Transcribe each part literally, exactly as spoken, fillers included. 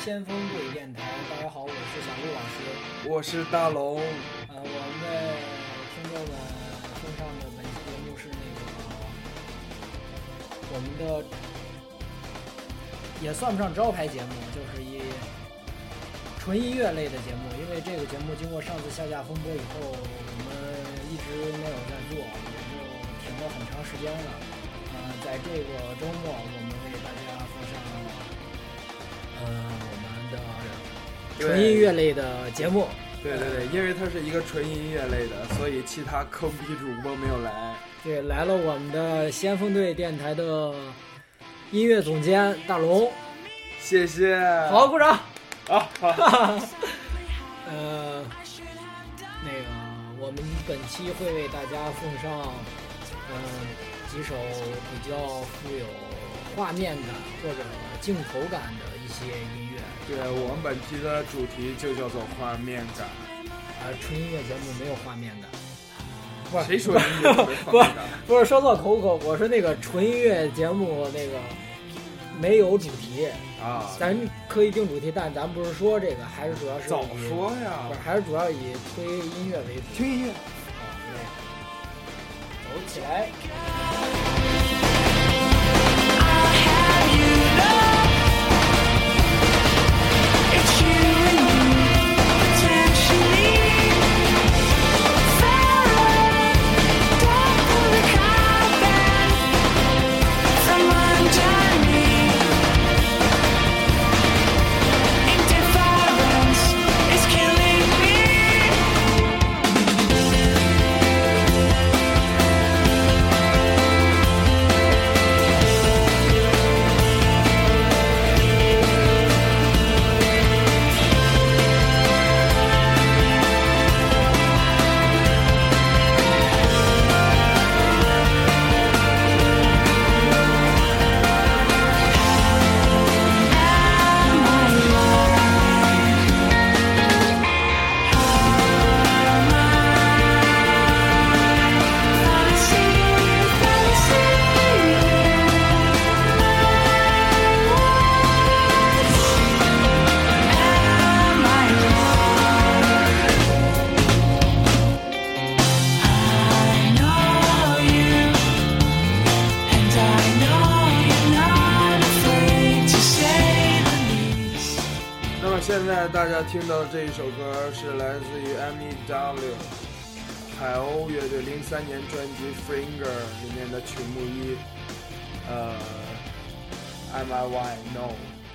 先锋队电台，大家好，我是小陆老师， 我是大龙。 呃，我们的听众们送上的本期节目是那个我们的也算不上招牌节目，就是一纯音乐类的节目。因为这个节目经过上次下架风波以后，我们一直没有在做，也就停了很长时间了。呃，在这个周末，我们为大家奉上呃我们的纯音乐类的节目。 对对对，因为它是一个纯音乐类的，所以其他坑逼主播没有来。 对，来了我们的先锋队电台的音乐总监大龙， 谢谢， 好，鼓掌啊！好， 呃，那个我们本期会为大家奉上，嗯、呃，几首比较富有画面感或者镜头感的一些音乐。 对，我们本期的主题就叫做画面感。 啊、呃，纯音乐节目没有画面感。不是谁说音乐没画面感？ 不是说错口口，我说那个纯音乐节目那个没有主题啊， 咱可以定主题，但咱不是说这个，还是主要是早说呀， 不是，还是主要以推音乐为主。 听音乐， 啊，对，走起来。 现在大家听到的这一首歌是来自于 M E W 海鸥乐队零三年专辑 Finger 里面的曲目一，呃 M I Y No。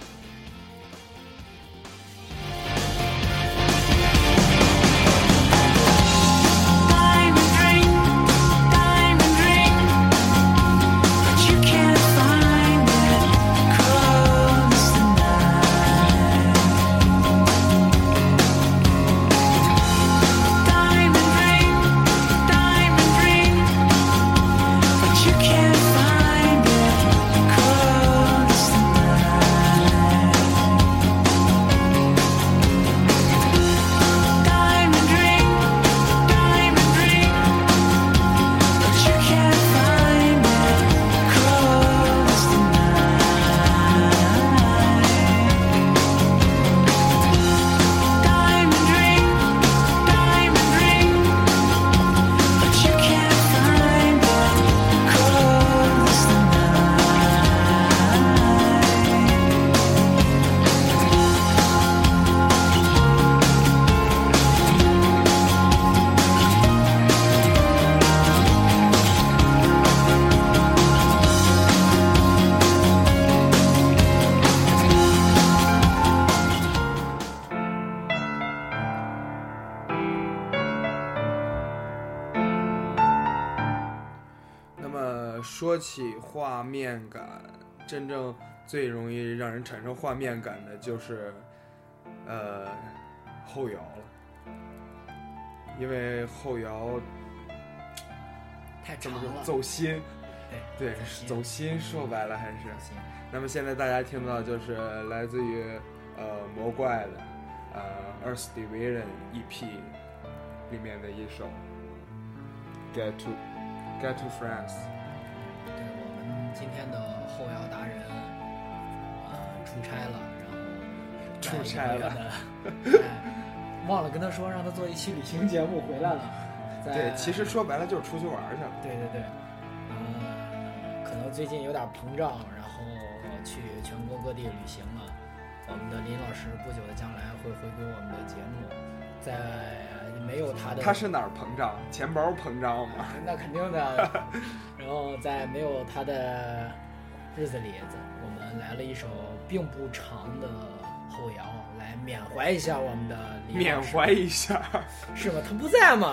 说起画面感，真正最容易让人产生画面感的就是呃后摇了，因为后摇太长了， 走心， 对对，走心，说白了还是。那么现在大家听到就是来自于呃魔怪的呃 Earth Division E P 里面的一首 Get to Get to France。 对，我们今天的后摇达人呃出差了，然后出差了， 哎，忘了跟他说让他做一期旅行节目回来了。 对，其实说白了就是出去玩去了。 对对对，嗯，可能最近有点膨胀，然后去全国各地旅行了。我们的林老师不久的将来会回归我们的节目，在没有他的， 他是哪儿膨胀？钱包膨胀吗？ 那肯定的。然后在没有他的日子里，我们来了一首并不长的后摇，来缅怀一下我们的林老师。 缅怀一下， 是吗？他不在吗？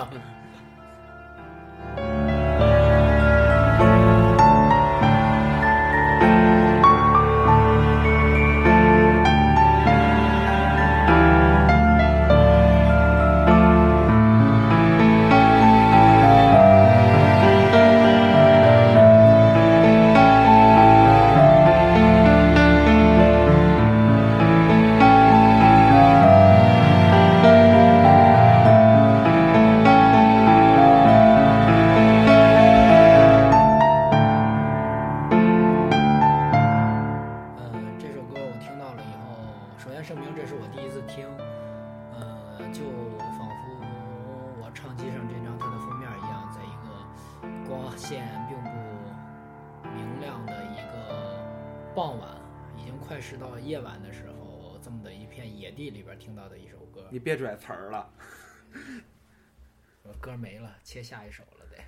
傍晚已经快是到夜晚的时候，这么的一片野地里边听到的一首歌。 你别拽词儿了， 我歌没了，切下一首了得。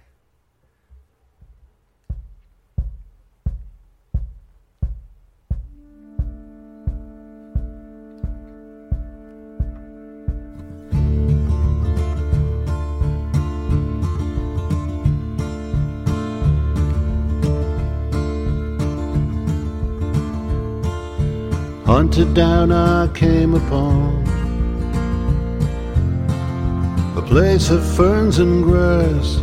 Hunted down I came upon a place of ferns and grass,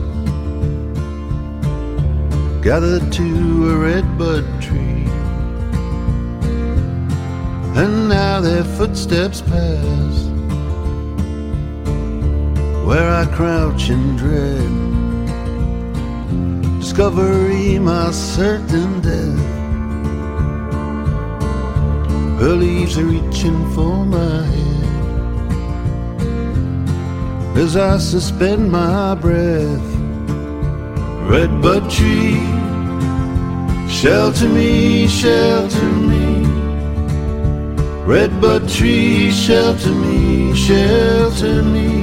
gathered to a redbud tree, and now their footsteps pass where I crouch in dread. Discovery, my certain death. Her leaves are reaching for my head as I suspend my breath. Redbud tree, shelter me, shelter me. Redbud tree, shelter me, shelter me.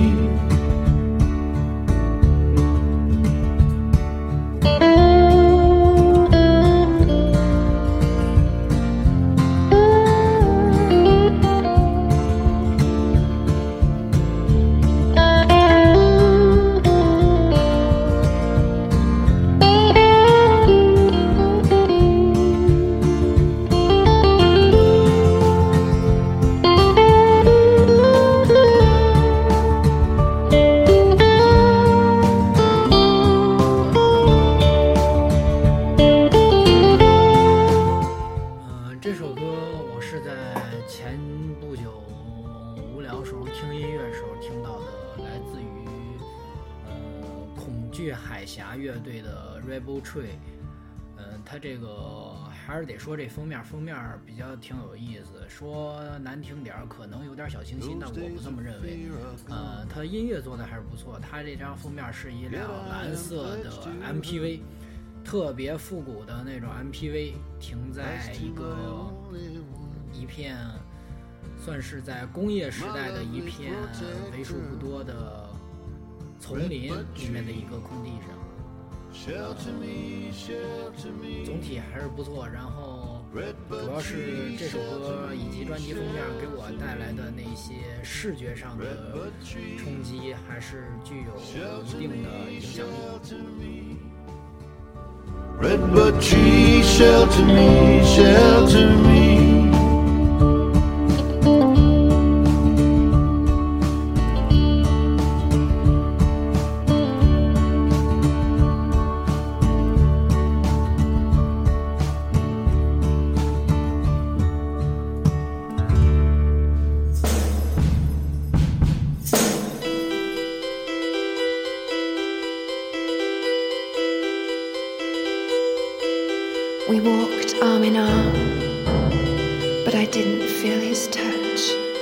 他这个还是得说这封面，封面比较挺有意思。说难听点可能有点小清新，但我不这么认为。呃，他音乐做的还是不错。他这张封面是一辆蓝色的 M P V， 特别复古的那种 M P V， 停在一个一片算是在工业时代的一片为数不多的丛林里面的一个空地上。呃、总体还是不错，然后主要是这首歌以及专辑封面给我带来的那些视觉上的冲击还是具有一定的影响力。 Redbud tree, shelter me, shelter me. We walked arm in arm, but I didn't feel his touch.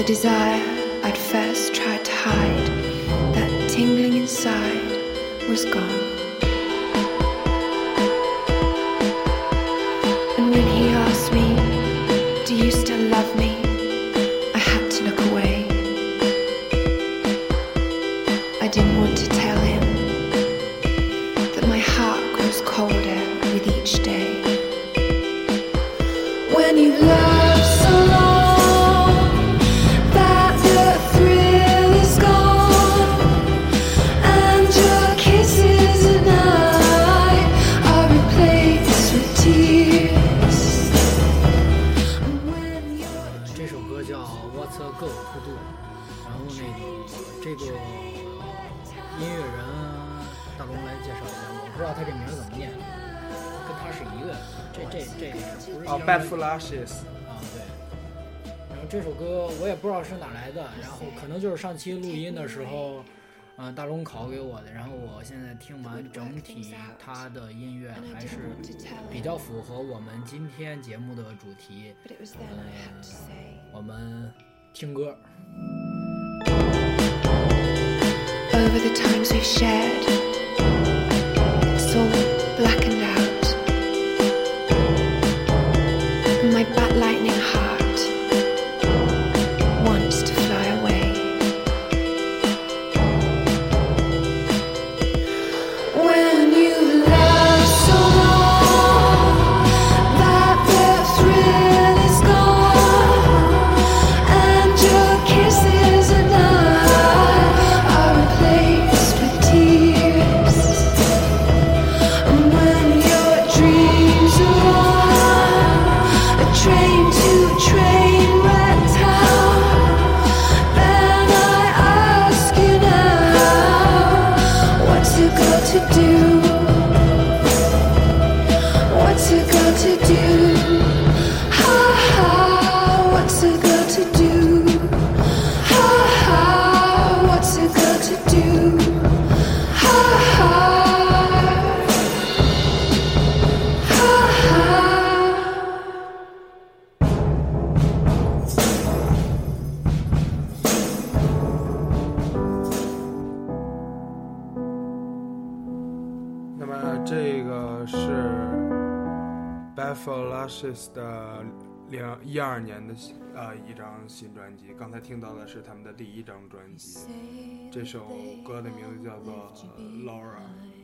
The desire I'd first tried to hide, that tingling inside, was gone. And when he asked me, do you still love me? I had to look away. I didn't want to tell him that my heart grows colder with each day. When you love so long that the thrill is gone, and your kisses and I are replaced with tears. And when you're 这首歌叫 What's a Girl to Do， 然后那个这个音乐人大龙来介绍一下，我不知道他这名字怎么念，跟他是一个，这这这不是哦 Bad Flashes 啊，对。然后这首歌我也不知道是哪来的，然后可能就是上期录音的时候，嗯、呃，大龙拷给我的。然后我现在听完整体，他的音乐还是比较符合我们今天节目的主题。呃，我们听歌。 over the times we've shared, it's all blackened out, and my bat lightning heart wants to fly away. When you love so long that the thrill is gone, and your kisses and I are replaced with tears, and when your dreams are on a train to train wreck town, then I ask you now, what's it got to do? What's it got to do? Ha ha, what's it got to do? Ha ha, what's it got to do? Ha ha, ha ha. 那么这个是 Bad Flashes 的零一二年的呃一张新专辑，刚才听到的是他们的第一张专辑，这首歌的名字叫做 Laura。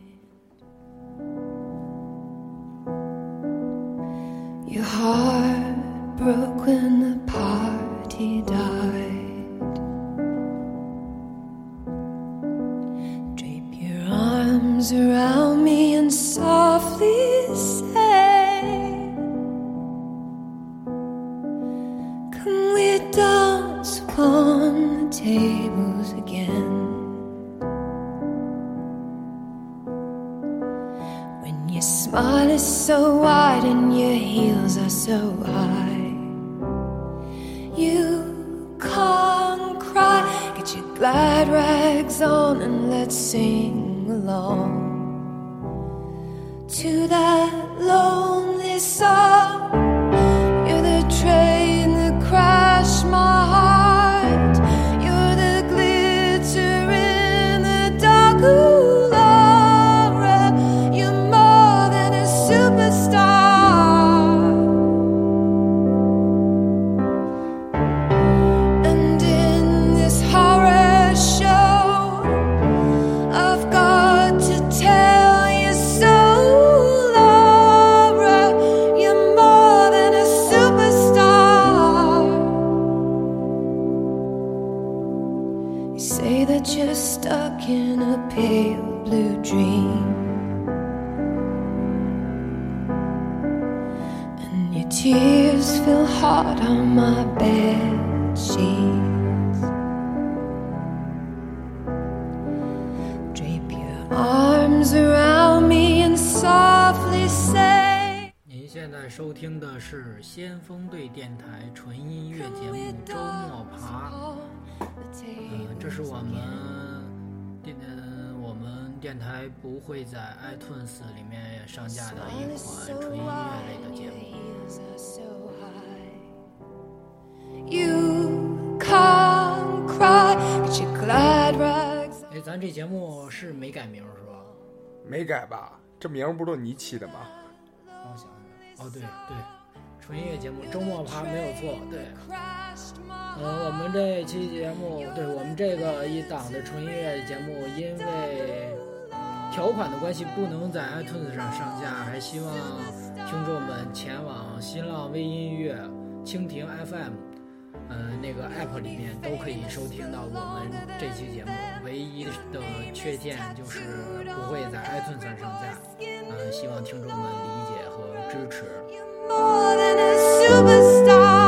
Your heart broke when the party died. Drape your arms around me and softly say, come we dance upon the tables again. When your smile is so wide and your heels are so high, you can't cry. Get your glad rags on and let's sing along to that lonely song. You're the train that crashed my heart. You're the glitter in the dark. Ooh, Laura, you're more than a superstar. And in this horror show, I've got to tell you so, Laura, you're more than a superstar. You say that you're stuck in a pale blue dream, and your tears feel hard on my bed sheets. Drape your arms around me and softly say, 您现在收听的是先锋队电台纯音乐节目周末爬。嗯，这是我们电呃我们电台不会在 iTunes 里面上架的一款纯音乐类的节目。 You call 咱这节目是没改名是吧？ 没改吧？这名不都你起的吗？ 让我想想，哦对对，纯音乐节目周末趴没有错，对。呃，我们这期节目，对我们这个一档的纯音乐节目，因为条款的关系不能在 iTunes 上上架，还希望听众们前往新浪微音乐、蜻蜓 F M， 呃，那个 App 里面都可以收听到我们这期节目。唯一的缺陷就是不会在 iTunes 上上架，呃，希望听众们理解和支持。More than a superstar.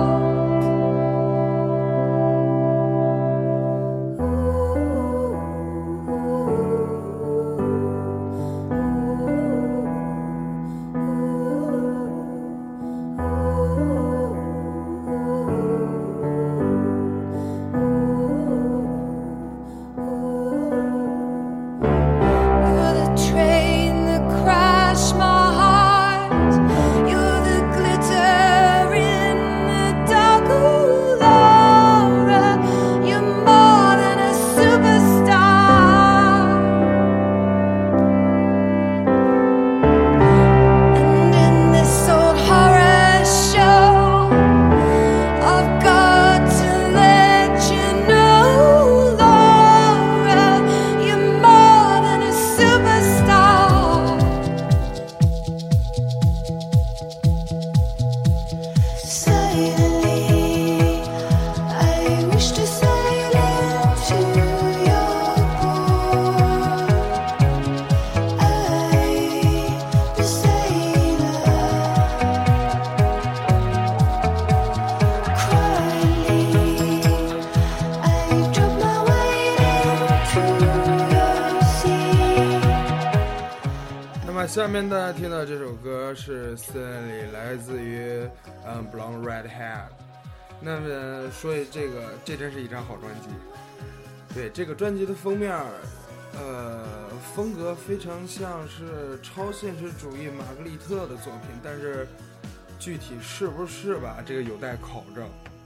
下面大家听到这首歌是 Stanley 来自于嗯 Blonde Redhead。那么说这个，这真是一张好专辑。对，这个专辑的封面，呃，风格非常像是超现实主义玛格丽特的作品，但是具体是不是吧，这个有待考证。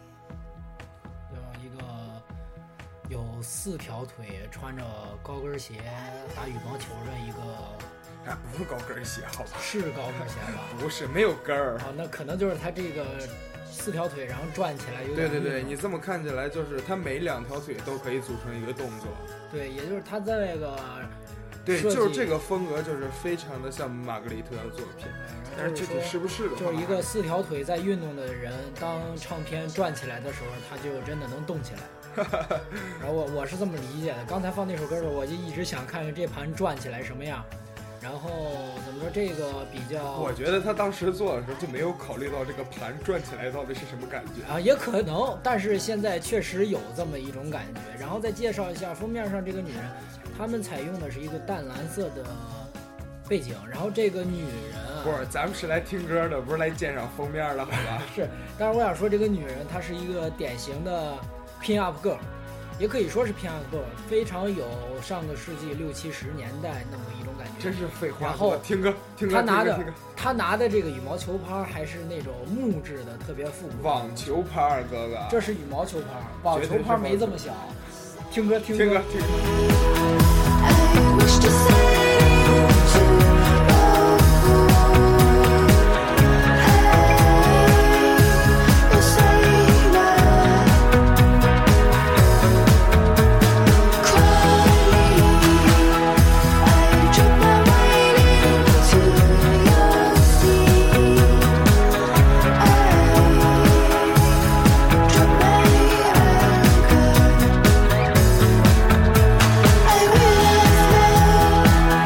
有一个有四条腿，穿着高跟鞋打羽毛球的一个。 哎，不是高跟鞋，好吧？ 是高跟鞋吧？ 不是，没有跟儿。 啊，那可能就是他这个四条腿，然后转起来有点。 对对对，你这么看起来，就是他每两条腿都可以组成一个动作。 对，也就是他在那个。 对，就是这个风格，就是非常的像玛格丽特的作品。但是具体是不是的话， 就是一个四条腿在运动的人，当唱片转起来的时候，他就真的能动起来。然后我我是这么理解的。刚才放那首歌的时候，我就一直想看看这盘转起来什么样。然后怎么说，这个比较， 我觉得他当时做的时候就没有考虑到这个盘转起来到底是什么感觉啊，也可能，但是现在确实有这么一种感觉。然后再介绍一下封面上这个女人，他们采用的是一个淡蓝色的背景，然后这个女人啊， 不是，咱们是来听歌的，不是来鉴赏封面的，好吧？ 是，但是我想说，这个女人她是一个典型的 pin up girl。也可以说是 pin up girl， 非常有上个世纪六七十年代那么一种感觉。 真是废话。 然后听歌，听歌， 他拿的他拿的这个羽毛球拍还是那种木质的，特别复古。 网球拍，哥哥。 这是羽毛球拍，网球拍没这么小。听歌，听歌，听歌，听歌。 I realize now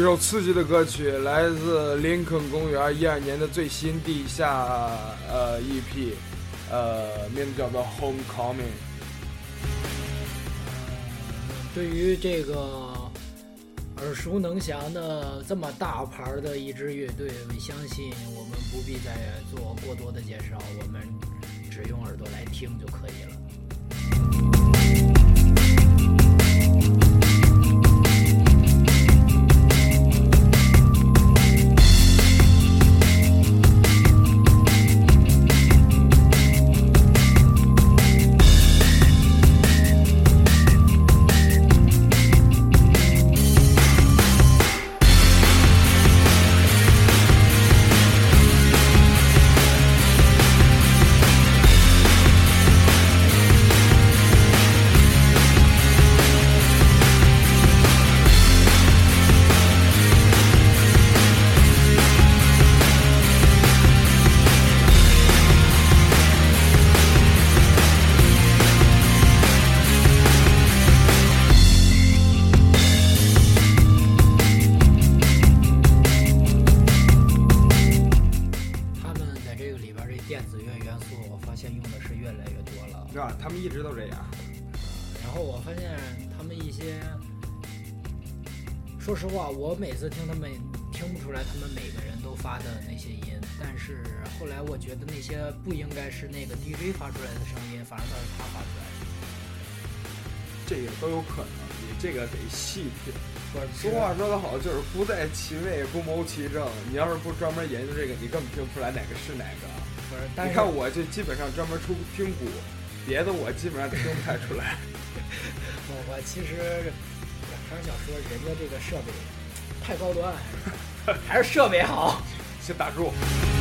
首刺激的歌曲，来自林肯公园一二年的最新地下呃 E P， 呃，名字叫做 Homecoming。 对于这个耳熟能详的这么大牌的一支乐队，我相信我们不必再做过多的介绍，我们只用耳朵来听就可以了。 他们一直都这样。 然后我发现他们一些，说实话，我每次听他们听不出来他们每个人都发的那些音，但是后来我觉得那些不应该是那个 D J 发出来的声音，反而都是他发出来的。 这个都有可能，你这个得细品。俗话说得好，就是不在其位不谋其政。你要是不专门研究这个，你根本听不出来哪个是哪个。 不是，但是你看我就基本上专门出听鼓。别的我基本上听不太出来。 我我其实还是想说，人家这个设备太高端，还是设备好。 先打住。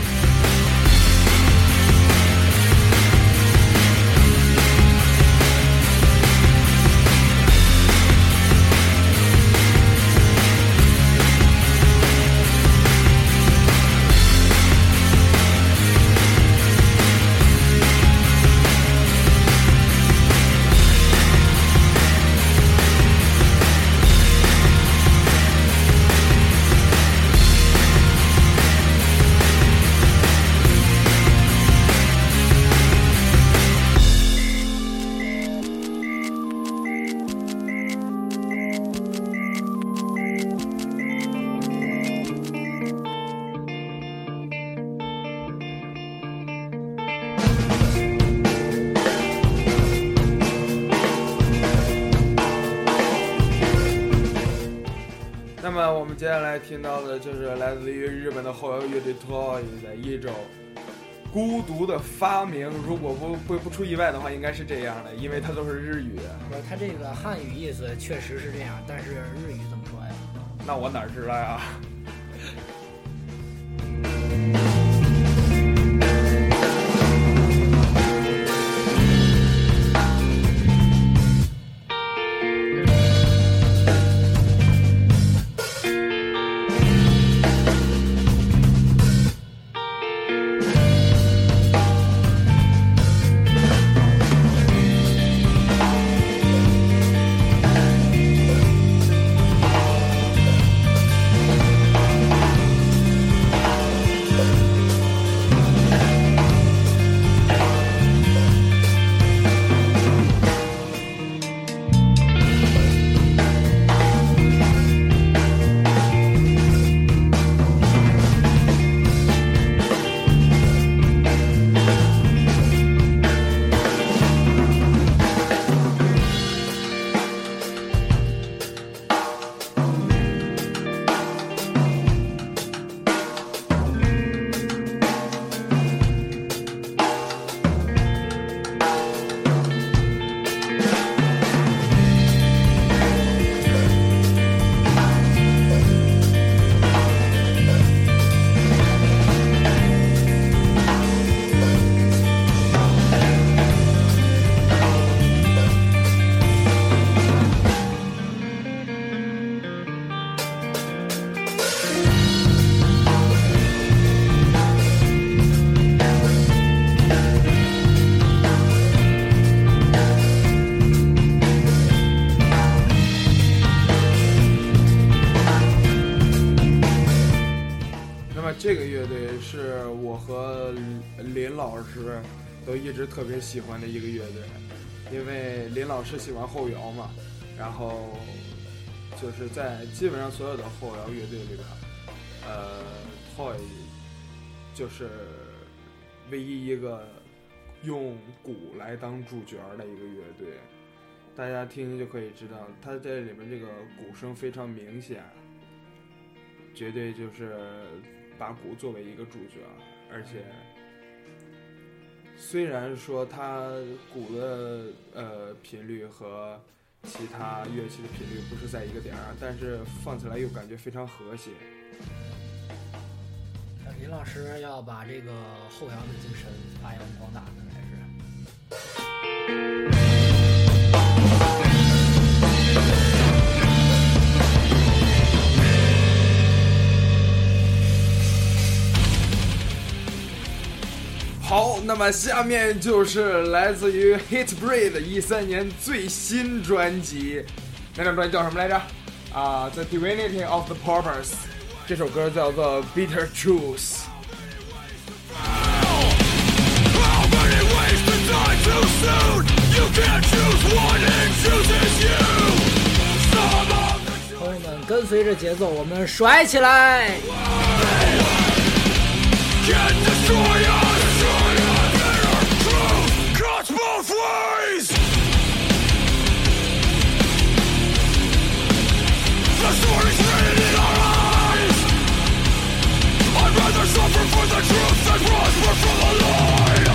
那么我们接下来听到的就是来自于日本的后摇乐队 Toy 的一首孤独的发明，如果不不不出意外的话，应该是这样的，因为它都是日语。 不是，它这个汉语意思确实是这样，但是日语怎么说呀？ 那我哪知道呀？ 那么这个乐队是我和林老师都一直特别喜欢的一个乐队，因为林老师喜欢后摇嘛，然后就是在基本上所有的后摇乐队里边，呃 Toy 就是唯一一个用鼓来当主角的一个乐队，大家听就可以知道他在里面这个鼓声非常明显，绝对就是把鼓作为一个主角，而且虽然说它鼓的呃频率和其他乐器的频率不是在一个点上，但是放起来又感觉非常和谐。 林老师要把这个后摇的精神发扬光大的还是。 好，那么下面就是来自于 Hatebreed 一三年最新专辑，那张专辑叫什么来着？啊、uh, ，The Divinity of the Purpose。这首歌叫做 Bitter Truth。 朋友们，跟随着节奏，我们甩起来！ Both ways. The story's written in our eyes. I'd rather suffer for the truth than prosper for the lie.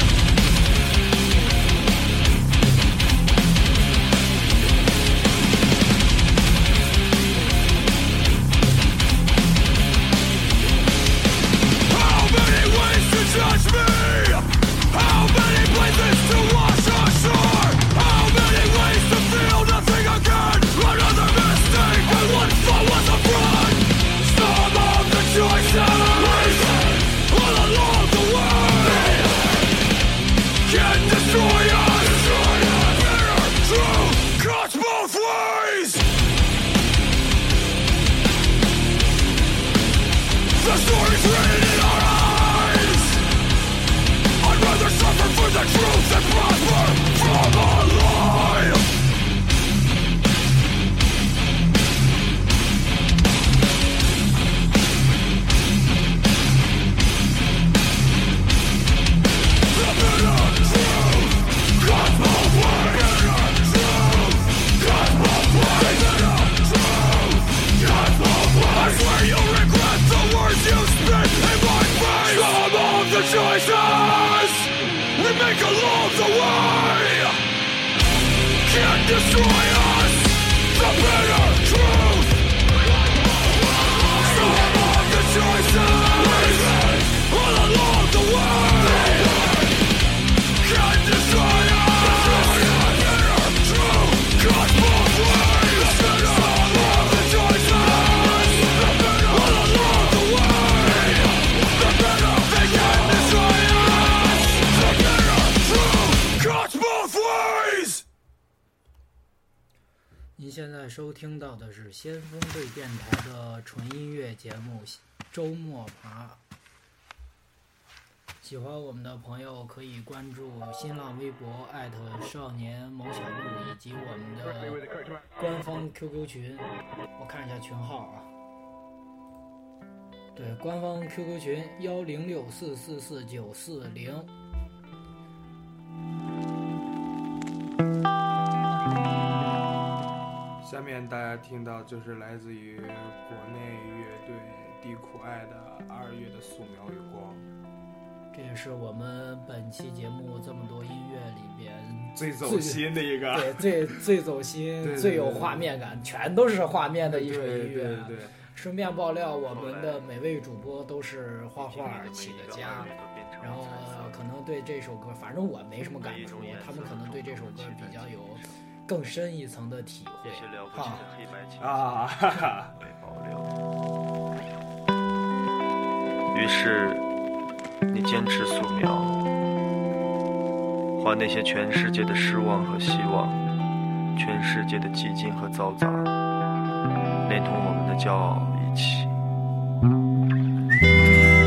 How many ways to judge me? How many places to wash ashore? How many ways to feel nothing again? Another mistake and one thought was a fraud. Some of the choices all along the way can destroy us. Bitter truth cuts both ways. The story's written in our eyes. I'd rather suffer for the truth than prosper from a lie. The bitter truth cuts both ways. Bitter truth cuts both ways. Bitter truth cuts both ways. I swear you'll regret the words you spit in my face. Some of the choices we make along the way can't destroy us. The bitter truth. Some of the choices all along the way can't destroy us. The bitter truth cuts both ways. Some of the choices all along the way. The bitter they can't destroy us. The bitter truth cuts both ways. 您现在收听到的是先锋队电台的纯音乐节目《周末爬》。喜欢我们的朋友可以关注新浪微博艾特少年某小路，以及我们的官方 Q Q 群。我看一下群号啊，对，官方 Q Q 群幺零六四四四九四零。 下面大家听到就是来自于国内乐队地苦爱的二月的素描与光， 这也是我们本期节目这么多音乐里边最走心的一个， 对，最最走心、 对对对最有画面感，全都是画面的一首音乐。 对对对对， 顺便爆料，我们的每位主播都是画画起的家，然后可能对这首歌，反正我没什么感触，他们可能对这首歌比较有更深一层的体会。哈啊，哈哈。 于是，你坚持素描，画那些全世界的失望和希望，全世界的寂静和嘈杂，连同我们的骄傲一起。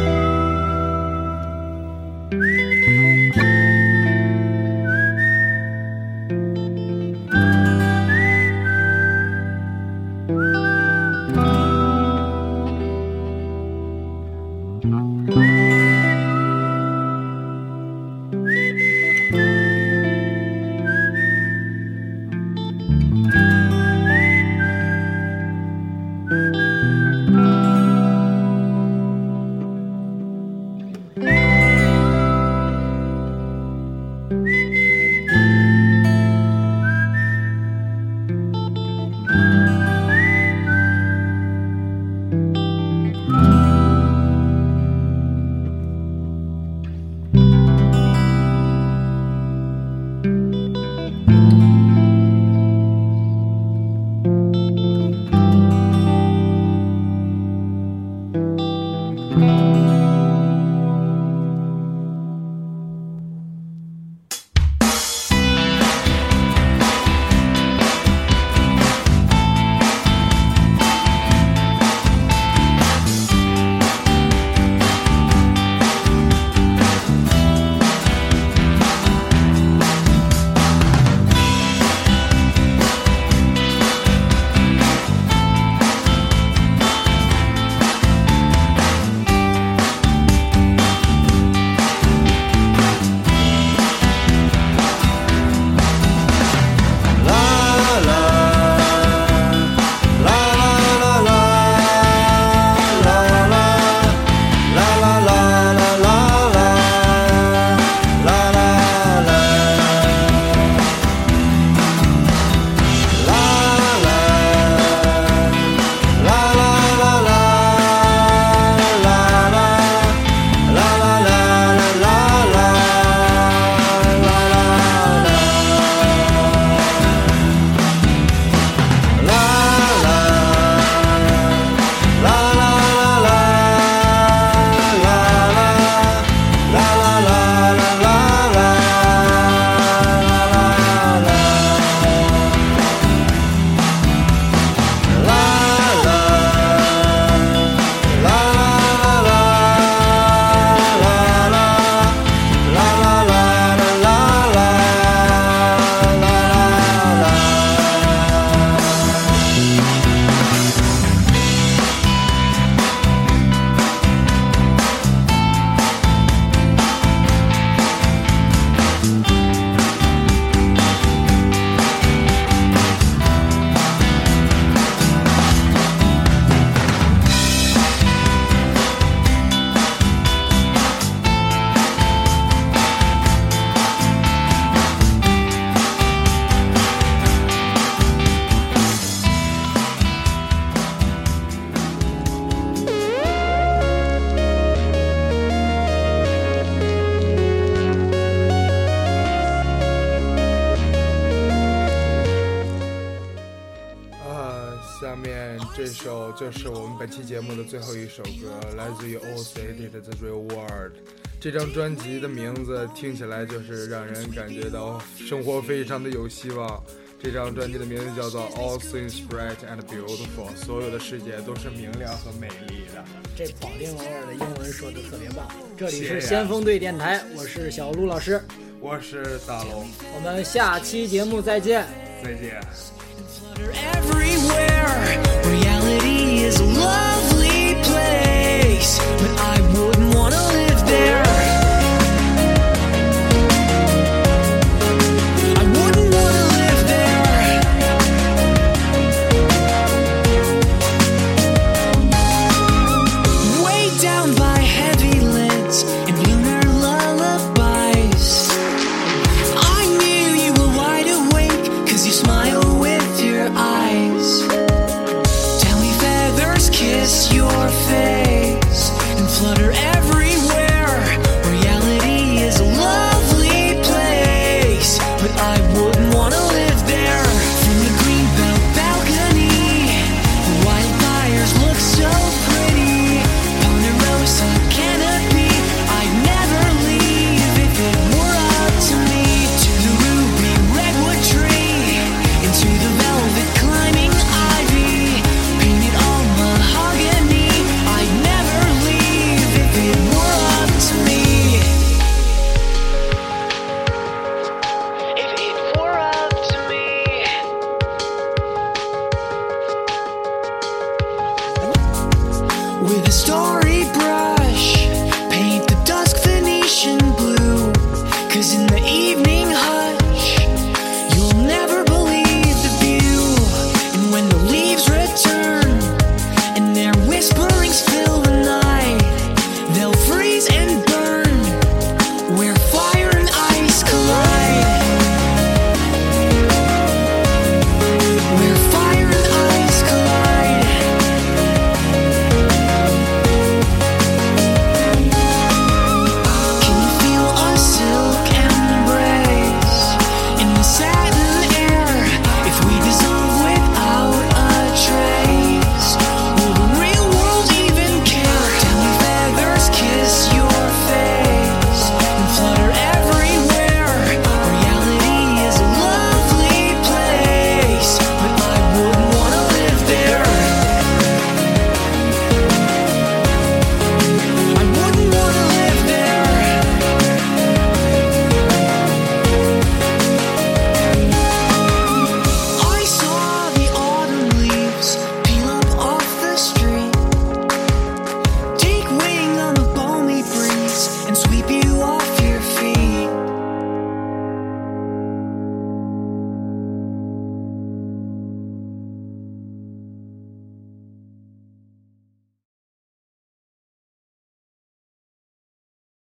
这首就是我们本期节目的最后一首歌，来自于 All Stated 的 The Real World。这张专辑的名字听起来就是让人感觉到生活非常的有希望。这张专辑的名字叫做 All Things Bright and Beautiful， 所有的世界都是明亮和美丽的。 这保定老二的英文说的特别棒。这里是先锋队电台，我是小卢老师， 我是大龙， 我们下期节目再见， 再见。 Everywhere, reality is love.